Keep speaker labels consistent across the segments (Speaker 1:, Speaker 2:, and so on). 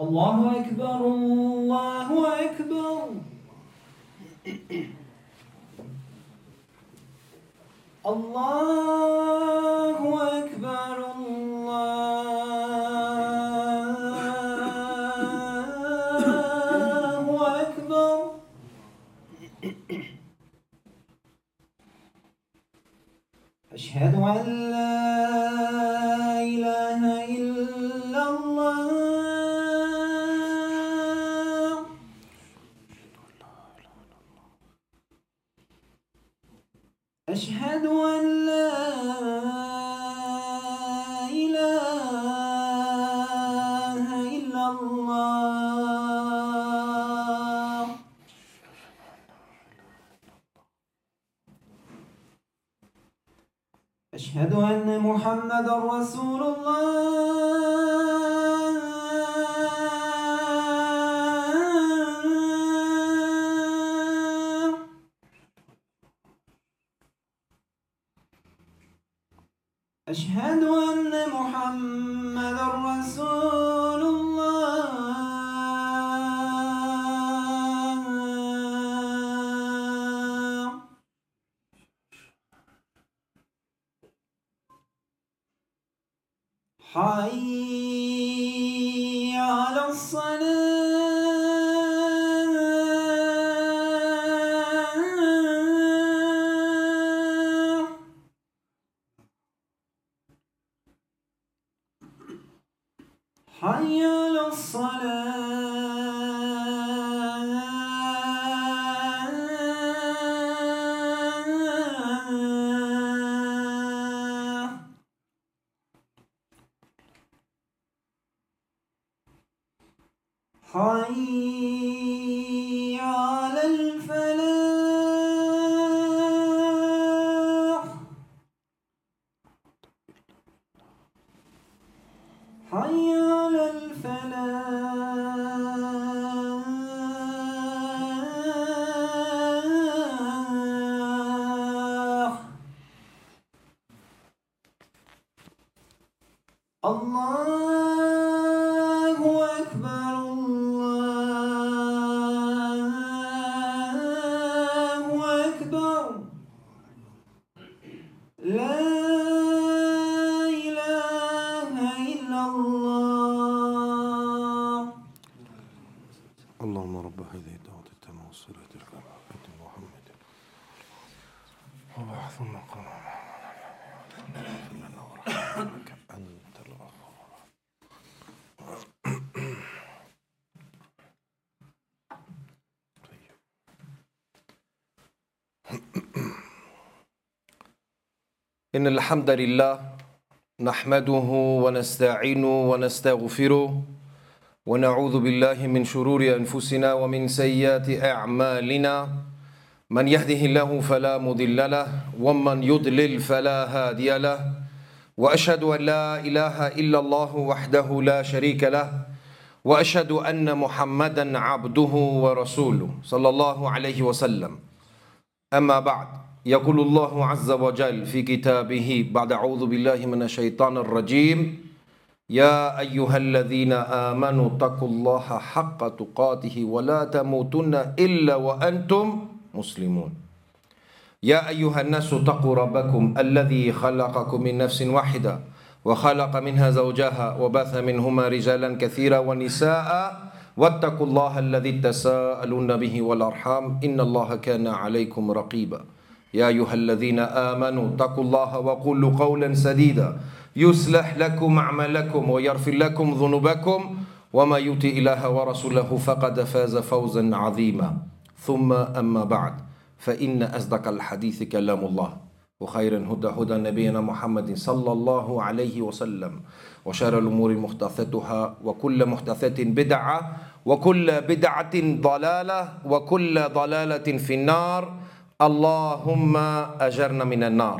Speaker 1: الله أكبر الله أكبر الله أكبر الله أكبر أشهد أن لا إله إلا الله أشهد أن لا إله إلا الله أشهد أن محمدا رسول الله أشهد أن محمدا رسول الله حي على الصلاة حي على الصلاة حي على الفلاح حي على الفلاح الله أكبر الله أكبر لا إله إلا الله
Speaker 2: اللهم رب هذه الدعوة التامة والصلاة الكاملة آت محمد وبعث مقام اغفر لنا وارحمنا أنت الغفور. إن الحمد لله نحمده ونستعينه ونستغفره ونعوذ بالله من شرور أنفسنا ومن سيئات أعمالنا من يهده الله فلا مضل له ومن يضلل فلا هادي له وأشهد أن لا إله إلا الله وحده لا شريك له وأشهد أن محمدا عبده ورسوله صلى الله عليه وسلم. أما بعد، يقول الله عز وجل في كتابه بعد أعوذ بالله من الشيطان الرجيم: يا أيها الذين آمنوا اتقوا الله حق تقاته ولا تموتن إلا وأنتم مسلمون. يا أيها الناس اتقوا ربكم الذي خلقكم من نفس واحدة وخلق منها زوجها وبث منهما رجالا كثيرا ونساء واتقوا الله الذي تساءلون به والأرحام إن الله كان عليكم رقيبا. يا أيها الذين آمنوا اتقوا الله وقولوا قولا سديدا يصلح لكم أعمالكم ويغفر لكم ذنوبكم وما يطع الله ورسوله فقد فاز فوزا عظيما. ثم أما بعد، فإن أصدق الحديث كلام الله وخير الهدى هدى نبينا محمد صلى الله عليه وسلم وشر الأمور محدثاتها وكل محدثة بدعة وكل بدعة ضلالة وكل ضلالة في النار. اللهم أجرنا من النار.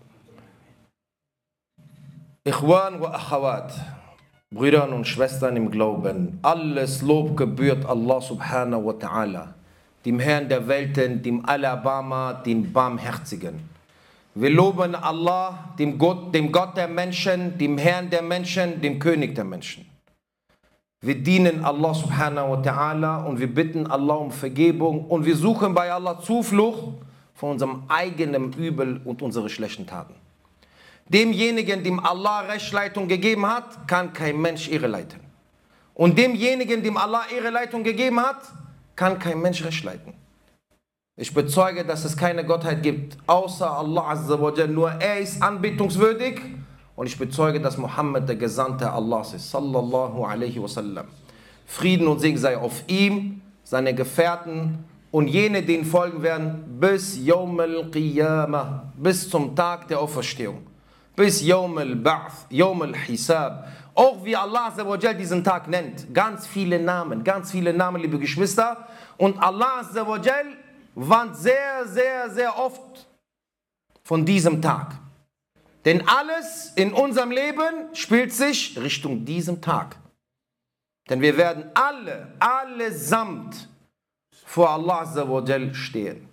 Speaker 2: Ikhwan wa Akhawat, Brüder und Schwestern im Glauben, alles Lob gebührt Allah subhanahu wa ta'ala, dem Herrn der Welten, dem Alabama, dem Barmherzigen. Wir loben Allah, dem Gott der Menschen, dem Herrn der Menschen, dem König der Menschen. Wir dienen Allah subhanahu wa ta'ala und wir bitten Allah um Vergebung und wir suchen bei Allah Zuflucht von unserem eigenen Übel und unsere schlechten Taten. Demjenigen, dem Allah Rechtsleitung gegeben hat, kann kein Mensch irreleiten. Und demjenigen, dem Allah Irreleitung gegeben hat, kann kein Mensch Recht leiten. Ich bezeuge, dass es keine Gottheit gibt, außer Allah Azza wa Jal. Nur er ist anbetungswürdig. Und ich bezeuge, dass Mohammed der Gesandte Allahs ist. Sallallahu alaihi wasallam. Frieden und Segen sei auf ihm, seine Gefährten und jene, denen folgen werden, bis Yawm al-Qiyamah, bis zum Tag der Auferstehung. Bis Yawm al-Ba'th, Yawm al-Hisab. Auch wie Allah Azza wa Jal diesen Tag nennt. Ganz viele Namen, liebe Geschwister. Und Allah Azza wa Jal warnt sehr, sehr, sehr oft von diesem Tag. Denn alles in unserem Leben spielt sich Richtung diesem Tag. Denn wir werden allesamt vor Allah Azza wa Jal stehen.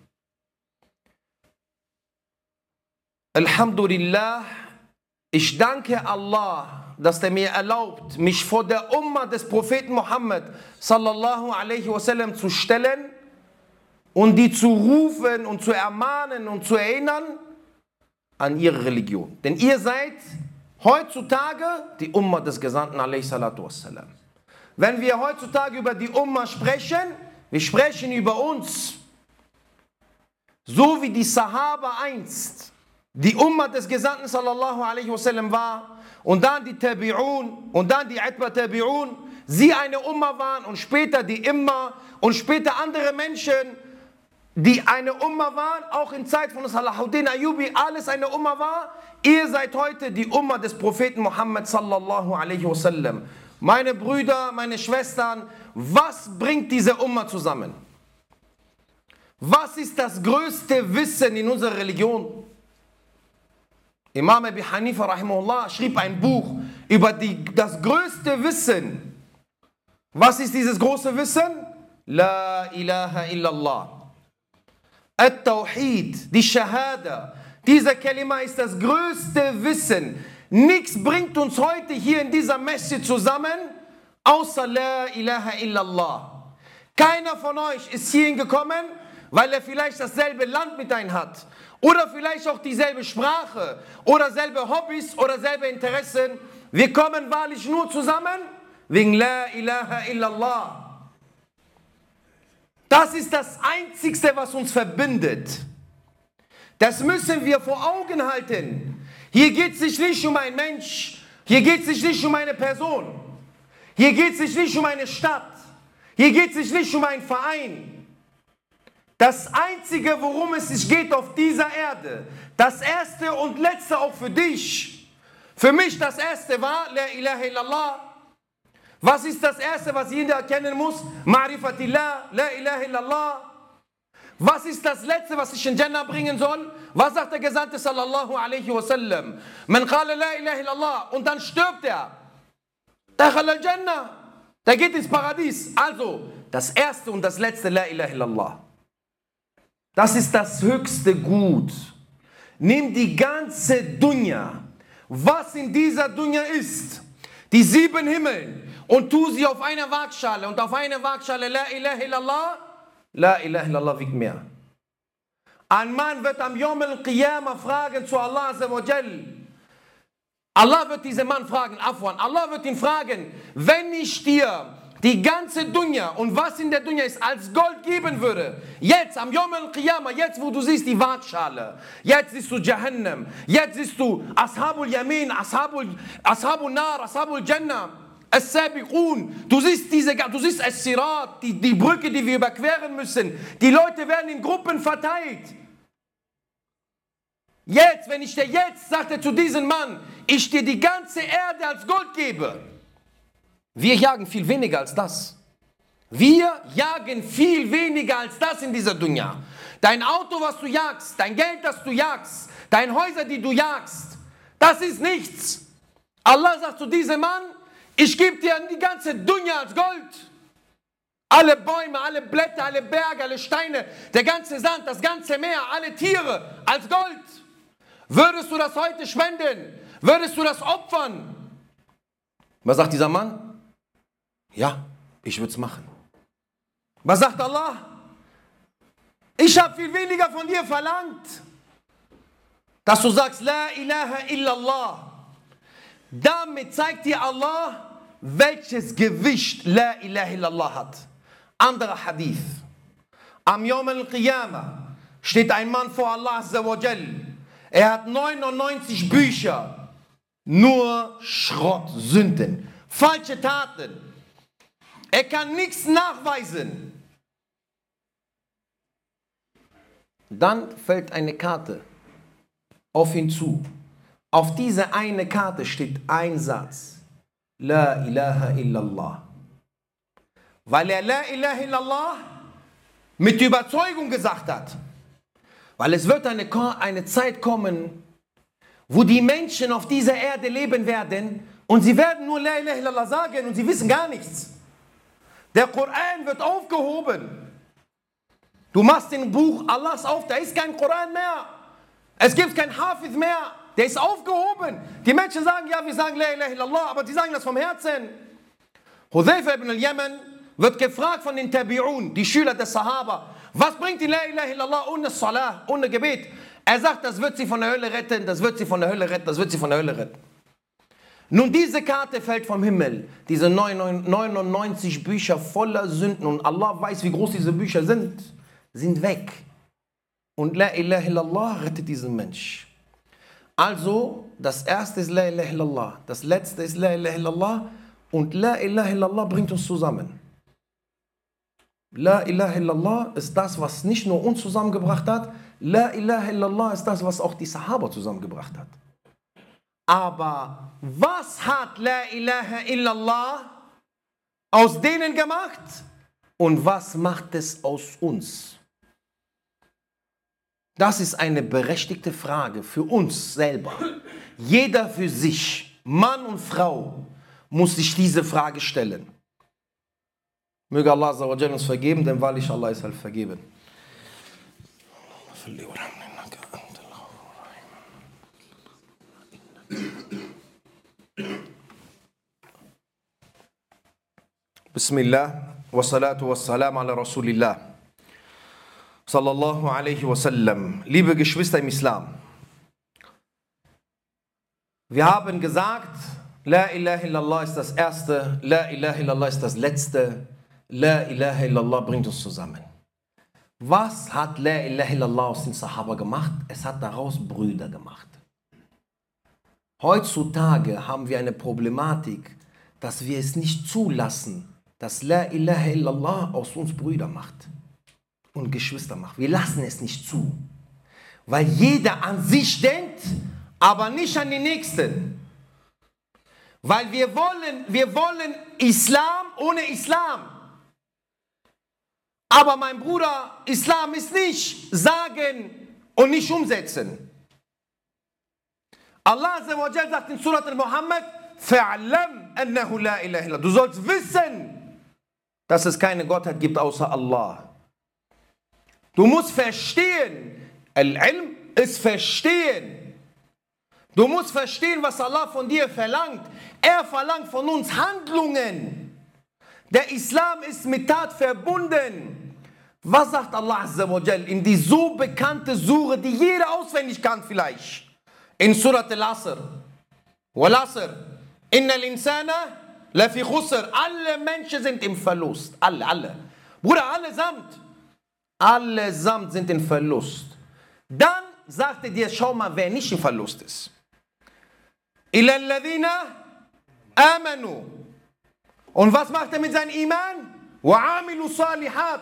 Speaker 2: Alhamdulillah, ich danke Allah, dass er mir erlaubt, mich vor der Umma des Propheten Muhammad sallallahu alaihi wasallam zu stellen und die zu rufen und zu ermahnen und zu erinnern an ihre Religion. Denn ihr seid heutzutage die Umma des Gesandten alaihi salatu wassalam. Wenn wir heutzutage über die Umma sprechen, wir sprechen über uns. So wie die Sahaba einst die Umma des Gesandten sallallahu alaihi wasallam war und dann die Tabi'un und dann die Atba Tabi'un, sie eine Umma waren und später die Imma und später andere Menschen, die eine Umma waren, auch in Zeit von Salahuddin Ayyubi, alles eine Umma war. Ihr seid heute die Umma des Propheten Muhammad sallallahu alaihi wasallam. Meine Brüder, meine Schwestern, was bringt diese Umma zusammen? Was ist das größte Wissen in unserer Religion? Imam Abi Hanifa rahimahullah schrieb ein Buch über das größte Wissen. Was ist dieses große Wissen? La ilaha illallah. At-Tawhid, die Shahada, dieser Kalima ist das größte Wissen. Nichts bringt uns heute hier in dieser Masjid zusammen, außer La ilaha illallah. Keiner von euch ist hierhin gekommen, weil er vielleicht dasselbe Land mit einem hat. Oder vielleicht auch dieselbe Sprache. Oder selbe Hobbys oder selbe Interessen. Wir kommen wahrlich nur zusammen wegen La ilaha illallah. Das ist das Einzigste, was uns verbindet. Das müssen wir vor Augen halten. Hier geht es sich nicht um einen Mensch. Hier geht es sich nicht um eine Person. Hier geht es sich nicht um eine Stadt. Hier geht es sich nicht um einen Verein. Das Einzige, worum es sich geht auf dieser Erde, das Erste und Letzte auch für dich. Für mich das Erste war La ilaha illallah. Was ist das Erste, was jeder erkennen muss? Ma'rifatillah, La ilaha illallah. Was ist das Letzte, was ich in Jannah bringen soll? Was sagt der Gesandte sallallahu alaihi wasallam? Man qala La ilaha illallah und dann stirbt er. Dakhal al-Jannah. Der geht ins Paradies. Also, das Erste und das Letzte, La ilaha illallah. Das ist das höchste Gut. Nimm die ganze Dunya, was in dieser Dunya ist, die 7 Himmeln, und tu sie auf einer Waagschale. Und auf einer Waagschale La ilaha illallah, La ilaha illallah wiegt mehr. Ein Mann wird am Yawm al-Qiyamah fragen zu Allah Azza wa Jal. Allah wird diesen Mann fragen, Afwan, Allah wird ihn fragen, wenn ich dir die ganze Dunya und was in der Dunya ist als Gold geben würde, jetzt am Yawm al-Qiyamah, jetzt wo du siehst die Waagschale, jetzt siehst du Jahannam, jetzt siehst du Ashabul Yamin, Ashabul Nar, Ashabul Jannah, As-Sabiqun, du siehst As-Sirat, die Brücke, die wir überqueren müssen, die Leute werden in Gruppen verteilt. Jetzt, wenn ich dir jetzt, sagt er zu diesem Mann, ich dir die ganze Erde als Gold gebe. Wir jagen viel weniger als das. Wir jagen viel weniger als das in dieser Dunya. Dein Auto, was du jagst, dein Geld, das du jagst, deine Häuser, die du jagst, das ist nichts. Allah sagt zu diesem Mann, ich gebe dir die ganze Dunya als Gold. Alle Bäume, alle Blätter, alle Berge, alle Steine, der ganze Sand, das ganze Meer, alle Tiere als Gold. Würdest du das heute spenden? Würdest du das opfern? Was sagt dieser Mann? Ja, ich würde es machen. Was sagt Allah? Ich habe viel weniger von dir verlangt, dass du sagst, La ilaha illallah. Damit zeigt dir Allah, welches Gewicht La ilaha illallah hat. Anderer Hadith. Am Yawm al-Qiyamah steht ein Mann vor Allah Azza wa Jal. Er hat 99 Bücher, nur Schrott, Sünden, falsche Taten. Er kann nichts nachweisen. Dann fällt eine Karte auf ihn zu. Auf diese eine Karte steht ein Satz. La ilaha illallah. Weil er La ilaha illallah mit Überzeugung gesagt hat. Weil es wird eine Zeit kommen, wo die Menschen auf dieser Erde leben werden und sie werden nur La ilaha illallah sagen und sie wissen gar nichts. Der Koran wird aufgehoben. Du machst den Buch Allahs auf, da ist kein Koran mehr. Es gibt kein Hafiz mehr, der ist aufgehoben. Die Menschen sagen, ja, wir sagen La ilaha illallah, aber die sagen das vom Herzen. Hudhayfa ibn al-Yaman wird gefragt von den Tabi'un, die Schüler des Sahaba, was bringt die La ilaha illallah ohne Salah, ohne Gebet? Er sagt, das wird sie von der Hölle retten, das wird sie von der Hölle retten, das wird sie von der Hölle retten. Nun, diese Karte fällt vom Himmel, diese 99 Bücher voller Sünden und Allah weiß, wie groß diese Bücher sind weg. Und La ilaha illallah rettet diesen Mensch. Also, das erste ist La ilaha illallah, das letzte ist La ilaha illallah und La ilaha illallah bringt uns zusammen. La ilaha illallah ist das, was nicht nur uns zusammengebracht hat, La ilaha illallah ist das, was auch die Sahaba zusammengebracht hat. Aber was hat La ilaha illallah aus denen gemacht und was macht es aus uns? Das ist eine berechtigte Frage für uns selber. Jeder für sich, Mann und Frau, muss sich diese Frage stellen. Möge Allah Azza wa Jalla uns vergeben, denn wahrlich Allah ist halt vergeben. Bismillah, wa salatu wa salam ala Rasulillah. Sallallahu alaihi wasallam. Liebe Geschwister im Islam, wir haben gesagt, La ilaha illallah ist das erste, La ilaha illallah ist das letzte, La ilaha illallah bringt uns zusammen. Was hat La ilaha illallah aus den Sahaba gemacht? Es hat daraus Brüder gemacht. Heutzutage haben wir eine Problematik, dass wir es nicht zulassen, dass La ilaha illallah aus uns Brüder macht und Geschwister macht. Wir lassen es nicht zu, weil jeder an sich denkt, aber nicht an den Nächsten. Weil wir wollen Islam ohne Islam. Aber mein Bruder, Islam ist nicht sagen und nicht umsetzen. Allah Azza wa Jalla sagt in Surat al-Muhammad, فَعْلَمْ أَنَّهُ لَا إِلَهَ إِلَّا. Du sollst wissen, dass es keine Gottheit gibt außer Allah. Du musst verstehen, Al-Ilm ist verstehen. Du musst verstehen, was Allah von dir verlangt. Er verlangt von uns Handlungen. Der Islam ist mit Tat verbunden. Was sagt Allah Azza wa Jal in die so bekannte Sure, die jeder auswendig kann vielleicht? In Surat al-Asr. Wal-Asr. Innal insana lafi khusr. Alle Menschen sind im Verlust. Alle. Bruder, allesamt sind im Verlust. Dann sagt er dir, schau mal, wer nicht im Verlust ist. Illa alladhina amanu. Und was macht er mit seinem Iman? Wa amilu salihat.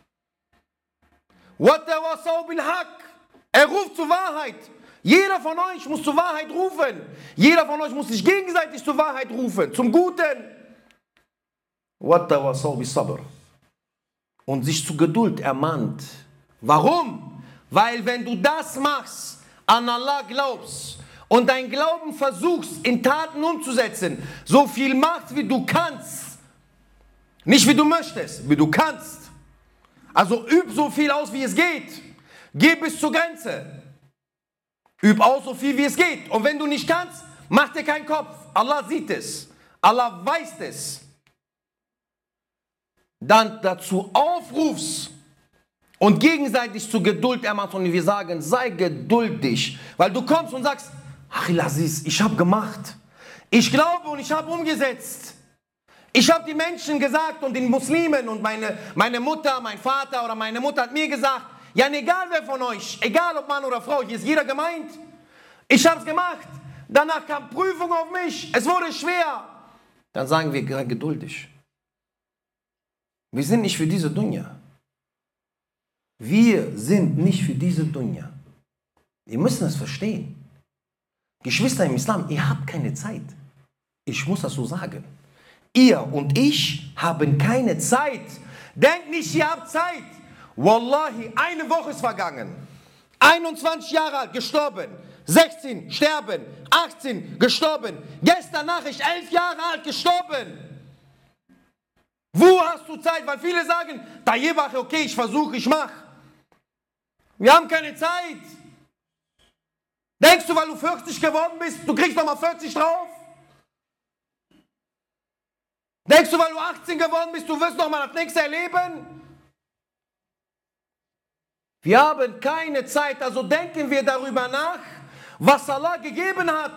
Speaker 2: Wa tawasaw bil haqq. Er ruft zur Wahrheit. Jeder von euch muss zur Wahrheit rufen. Jeder von euch muss sich gegenseitig zur Wahrheit rufen. Zum Guten. Wa tawasaw bis sabr. Und sich zu Geduld ermahnt. Warum? Weil wenn du das machst, an Allah glaubst und dein Glauben versuchst in Taten umzusetzen, so viel machst wie du kannst, nicht wie du möchtest, wie du kannst. Also üb so viel aus wie es geht, geh bis zur Grenze, üb aus so viel wie es geht und wenn du nicht kannst, mach dir keinen Kopf, Allah sieht es, Allah weiß es. dann dazu aufrufst und gegenseitig zur Geduld ermahnst und wir sagen, sei geduldig, weil du kommst und sagst, Achil Aziz, ich habe gemacht, ich glaube und ich habe umgesetzt. Ich habe die Menschen gesagt und den Muslimen und meine Mutter, mein Vater oder meine Mutter hat mir gesagt, ja, egal wer von euch, egal ob Mann oder Frau, hier ist jeder gemeint. Ich habe es gemacht. Danach kam Prüfung auf mich. Es wurde schwer. Dann sagen wir geduldig. Wir sind nicht für diese Dunya. Wir sind nicht für diese Dunya. Wir müssen es verstehen. Geschwister im Islam, ihr habt keine Zeit. Ich muss das so sagen. Ihr und ich haben keine Zeit. Denkt nicht, ihr habt Zeit. Wallahi, eine Woche ist vergangen. 21 Jahre alt, gestorben. 16, sterben. 18, gestorben. Gestern Nachricht, 11 Jahre alt, gestorben. Wo hast du Zeit? Weil viele sagen, da je wache, okay, ich versuche, ich mache. Wir haben keine Zeit. Denkst du, weil du 40 geworden bist, du kriegst nochmal 40 drauf? Denkst du, weil du 18 geworden bist, du wirst nochmal das nächste erleben? Wir haben keine Zeit, also denken wir darüber nach, was Allah gegeben hat.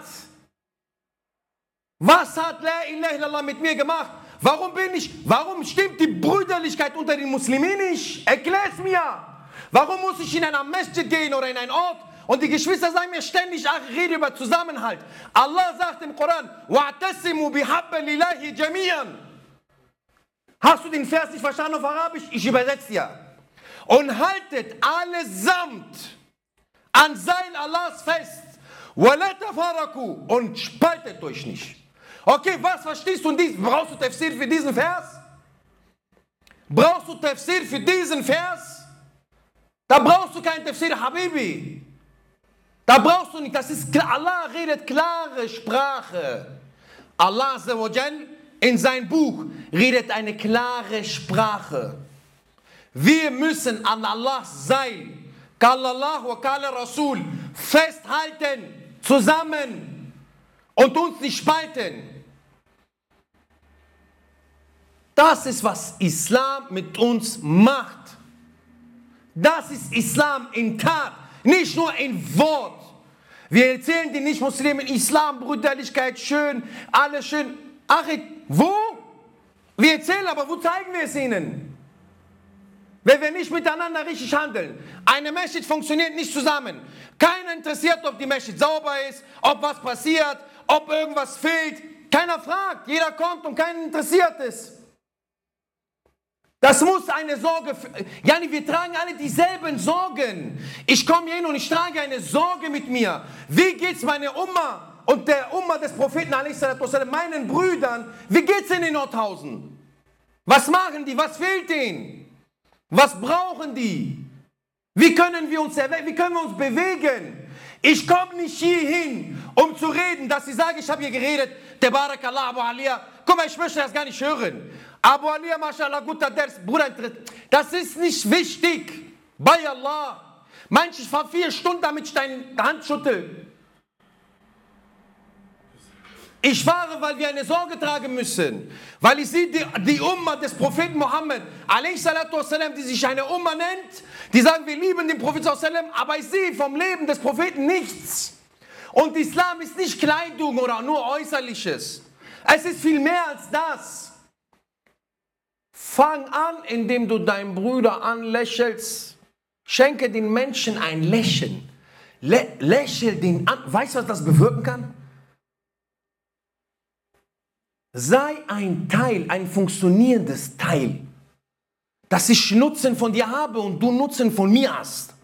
Speaker 2: Was hat La ilaha illallah mit mir gemacht? Warum stimmt die Brüderlichkeit unter den Muslimen nicht? Erklär es mir. Warum muss ich in einer Masjid gehen oder in einen Ort und die Geschwister sagen mir ständig, ach, ich rede über Zusammenhalt. Allah sagt im Koran, وَاعْتَسِمُوا بِحَبِّ اللَّهِ جَمِيعًا. Hast du den Vers nicht verstanden auf Arabisch? Ich übersetze dir. Und haltet allesamt an Seil Allahs fest. وَلَا تَفَرَّقُوا. Und spaltet euch nicht. Okay, was verstehst du in diesem? Brauchst du Tafsir für diesen Vers? Brauchst du Tafsir für diesen Vers? Da brauchst du keinen Tafsir, Habibi. Da brauchst du nicht, das ist klar. Allah redet klare Sprache. Allah Azza wa Jal in sein Buch redet eine klare Sprache. Wir müssen an Allahs Seil, Qala Allah wa Qala Rasul, festhalten, zusammen und uns nicht spalten. Das ist, was Islam mit uns macht. Das ist Islam in Tat, nicht nur in Wort. Wir erzählen den Nicht-Muslimen Islam, Brüderlichkeit, schön, alles schön. Ach, wo? Wir erzählen, aber wo zeigen wir es ihnen? Wenn wir nicht miteinander richtig handeln. Eine Masjid funktioniert nicht zusammen. Keiner interessiert, ob die Masjid sauber ist, ob was passiert, ob irgendwas fehlt. Keiner fragt, jeder kommt und keinen interessiert es. Das muss eine Sorge, Jani, wir tragen alle dieselben Sorgen. Ich komme hier hin und ich trage eine Sorge mit mir. Wie geht's meiner Umma und der Umma des Propheten, meinen Brüdern, wie geht's in den Nordhausen? Was machen die? Was fehlt denen? Was brauchen die? Wie können wir uns bewegen? Ich komme nicht hierhin, um zu reden, dass sie sagen, ich habe hier geredet, Tabarakallah, Abu Alia. Guck mal, ich möchte das gar nicht hören. Abu Alia, mashallah, guter Ders, Bruder, das ist nicht wichtig. Bei Allah. Manche, ich fahre 4 Stunden, damit ich deine Hand schüttel. Ich fahre, weil wir eine Sorge tragen müssen. Weil ich sehe die Umma des Propheten Mohammed, die sich eine Umma nennt, die sagen, wir lieben den Propheten, aber ich sehe vom Leben des Propheten nichts. Und Islam ist nicht Kleidung oder nur Äußerliches. Es ist viel mehr als das. Fang an, indem du deinen Bruder anlächelst. Schenke den Menschen ein Lächeln. Lächel den an. Weißt du, was das bewirken kann? Sei ein Teil, ein funktionierendes Teil, dass ich Nutzen von dir habe und du Nutzen von mir hast.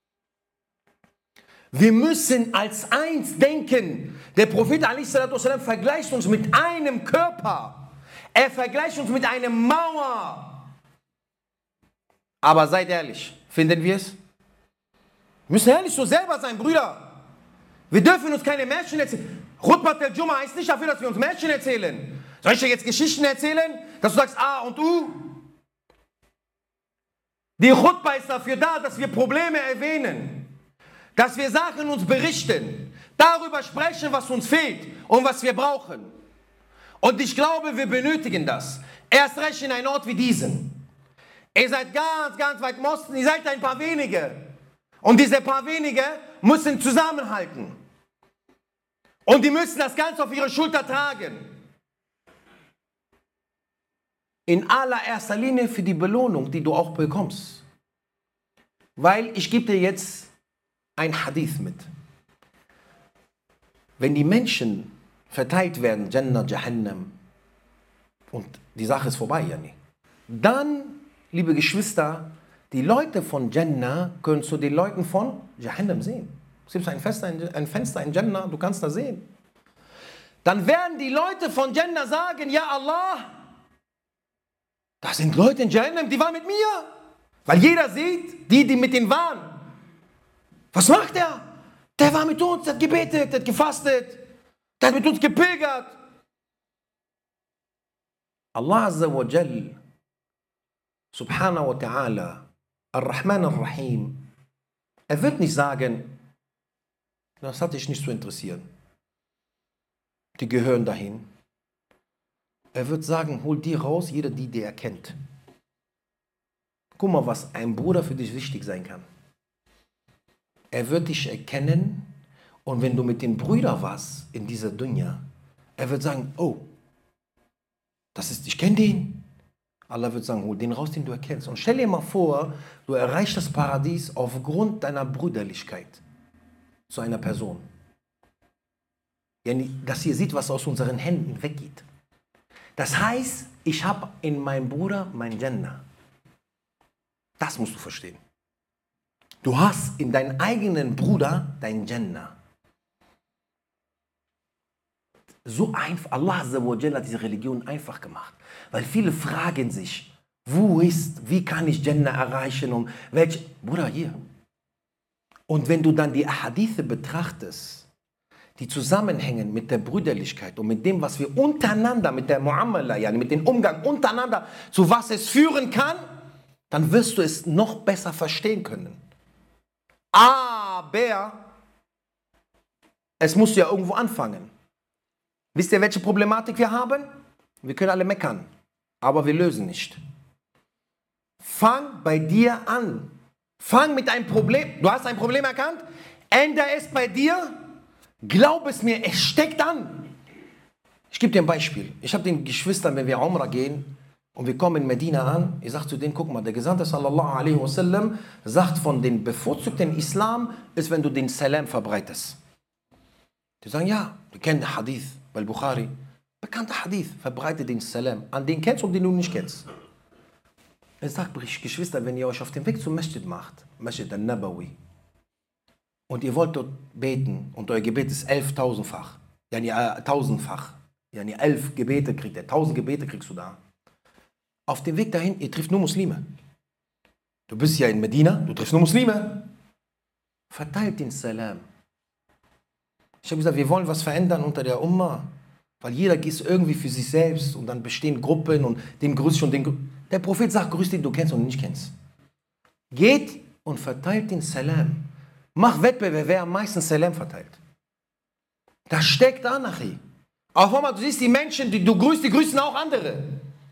Speaker 2: Wir müssen als eins denken. Der Prophet ﷺ vergleicht uns mit einem Körper. Er vergleicht uns mit einer Mauer. Aber seid ehrlich, finden wir es? Wir müssen ehrlich so selber sein, Brüder. Wir dürfen uns keine Märchen erzählen. Khutbat al-Jum'a heißt nicht dafür, dass wir uns Märchen erzählen. Soll ich dir jetzt Geschichten erzählen, dass du sagst A und U? Die Khutbah ist dafür da, dass wir Probleme erwähnen. Dass wir Sachen uns berichten. Darüber sprechen, was uns fehlt und was wir brauchen. Und ich glaube, wir benötigen das. Erst recht in einem Ort wie diesen. Ihr seid ganz, ganz weit im Osten, ihr seid ein paar wenige. Und diese paar wenige müssen zusammenhalten. Und die müssen das Ganze auf ihre Schulter tragen. In allererster Linie für die Belohnung, die du auch bekommst. Weil ich gebe dir jetzt ein Hadith mit. Wenn die Menschen verteilt werden, Jannah, Jahannam, und die Sache ist vorbei, ja nicht. Dann, liebe Geschwister, die Leute von Jannah können zu den Leuten von Jahannam sehen. Es gibt ein Fenster in Jannah, du kannst das sehen. Dann werden die Leute von Jannah sagen, ja Allah, das sind Leute in Jahannam, die waren mit mir. Weil jeder sieht, die mit denen waren. Was macht er? Der war mit uns, der hat gebetet, der hat gefastet, der hat mit uns gepilgert. Allah Azza wa Jal, Subhanahu wa Ta'ala, Ar-Rahman Ar-Rahim, er wird nicht sagen, das hat dich nicht zu interessieren. Die gehören dahin. Er wird sagen, hol die raus, jeder, die er kennt. Guck mal, was ein Bruder für dich wichtig sein kann. Er wird dich erkennen und wenn du mit den Brüdern warst in dieser Dunya, er wird sagen, oh, ich kenne den. Allah wird sagen, hol den raus, den du erkennst. Und stell dir mal vor, du erreichst das Paradies aufgrund deiner Brüderlichkeit zu einer Person. Dass ihr seht, was aus unseren Händen weggeht. Das heißt, ich habe in meinem Bruder mein Jannah. Das musst du verstehen. Du hast in deinem eigenen Bruder dein Jannah. So einfach, Allah Azza wa Jalla hat diese Religion einfach gemacht. Weil viele fragen sich, wie kann ich Jannah erreichen? Bruder, hier. Und wenn du dann die Ahadithe betrachtest, die zusammenhängen mit der Brüderlichkeit und mit dem, was wir untereinander, mit der Muamala, mit dem Umgang untereinander, zu was es führen kann, dann wirst du es noch besser verstehen können. Aber es muss ja irgendwo anfangen. Wisst ihr, welche Problematik wir haben? Wir können alle meckern, aber wir lösen nicht. Fang bei dir an. Fang mit einem Problem. Du hast ein Problem erkannt? Ändere es bei dir. Glaub es mir, es steckt an. Ich gebe dir ein Beispiel. Ich habe den Geschwistern, wenn wir Umrah gehen und wir kommen in Medina an, ich sage zu denen, guck mal, der Gesandte sallallahu alaihi wasallam sagt, von den bevorzugten Islam ist, wenn du den Salam verbreitest. Die sagen, ja, wir kennen den Hadith bei Bukhari. Bekannter Hadith, verbreite den Salam an den kennst und den du nicht kennst. Ich sage, Geschwister, wenn ihr euch auf den Weg zum Masjid macht, Masjid al-Nabawi, und ihr wollt dort beten und euer Gebet ist 11.000-fach, 1000-fach, 11 Gebete kriegt ihr, 1000 Gebete kriegst du da. Auf dem Weg dahin, ihr trifft nur Muslime. Du bist ja in Medina, du triffst nur Muslime. Verteilt den Salam. Ich habe gesagt, wir wollen was verändern unter der Umma, weil jeder ist irgendwie für sich selbst und dann bestehen Gruppen und den grüßt und den. Der Prophet sagt, grüß den du kennst und nicht kennst. Geht und verteilt den Salam. Mach Wettbewerb, wer am meisten Salam verteilt. Das steckt an, Achi. Auf einmal, du siehst die Menschen, die du grüßt, die grüßen auch andere.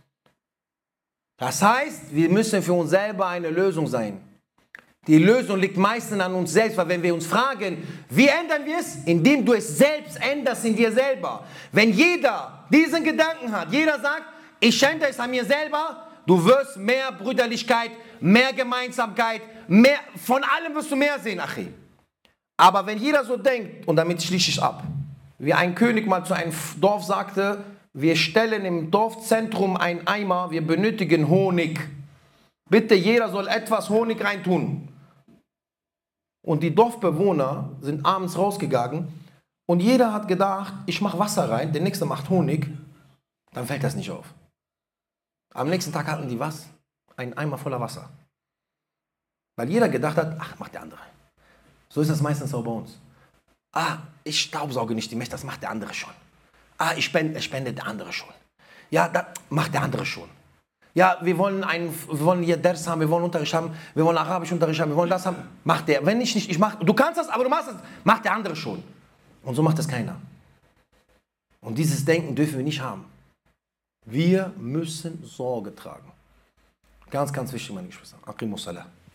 Speaker 2: Das heißt, wir müssen für uns selber eine Lösung sein. Die Lösung liegt meistens an uns selbst, weil wenn wir uns fragen, wie ändern wir es? Indem du es selbst änderst in dir selber. Wenn jeder diesen Gedanken hat, jeder sagt, ich ändere es an mir selber, du wirst mehr Brüderlichkeit, mehr Gemeinsamkeit, mehr, von allem wirst du mehr sehen, Achi. Aber wenn jeder so denkt, und damit schließe ich ab, wie ein König mal zu einem Dorf sagte, wir stellen im Dorfzentrum einen Eimer, wir benötigen Honig. Bitte, jeder soll etwas Honig reintun. Und die Dorfbewohner sind abends rausgegangen und jeder hat gedacht, ich mache Wasser rein, der nächste macht Honig, dann fällt das nicht auf. Am nächsten Tag hatten die was? Einen Eimer voller Wasser. Weil jeder gedacht hat, ach, macht der andere. So ist das meistens auch bei uns. Ich staubsauge nicht die Mächte, das macht der andere schon. Ich spende der andere schon. Ja, das macht der andere schon. Ja, wir wollen hier Ders haben, wir wollen Unterricht haben, wir wollen Arabisch Unterricht haben, wir wollen das haben. Macht der. Wenn ich nicht, du kannst das, aber du machst das, macht der andere schon. Und so macht das keiner. Und dieses Denken dürfen wir nicht haben. Wir müssen Sorge tragen. Ganz, ganz wichtig, meine Geschwister. Aqimus Salah.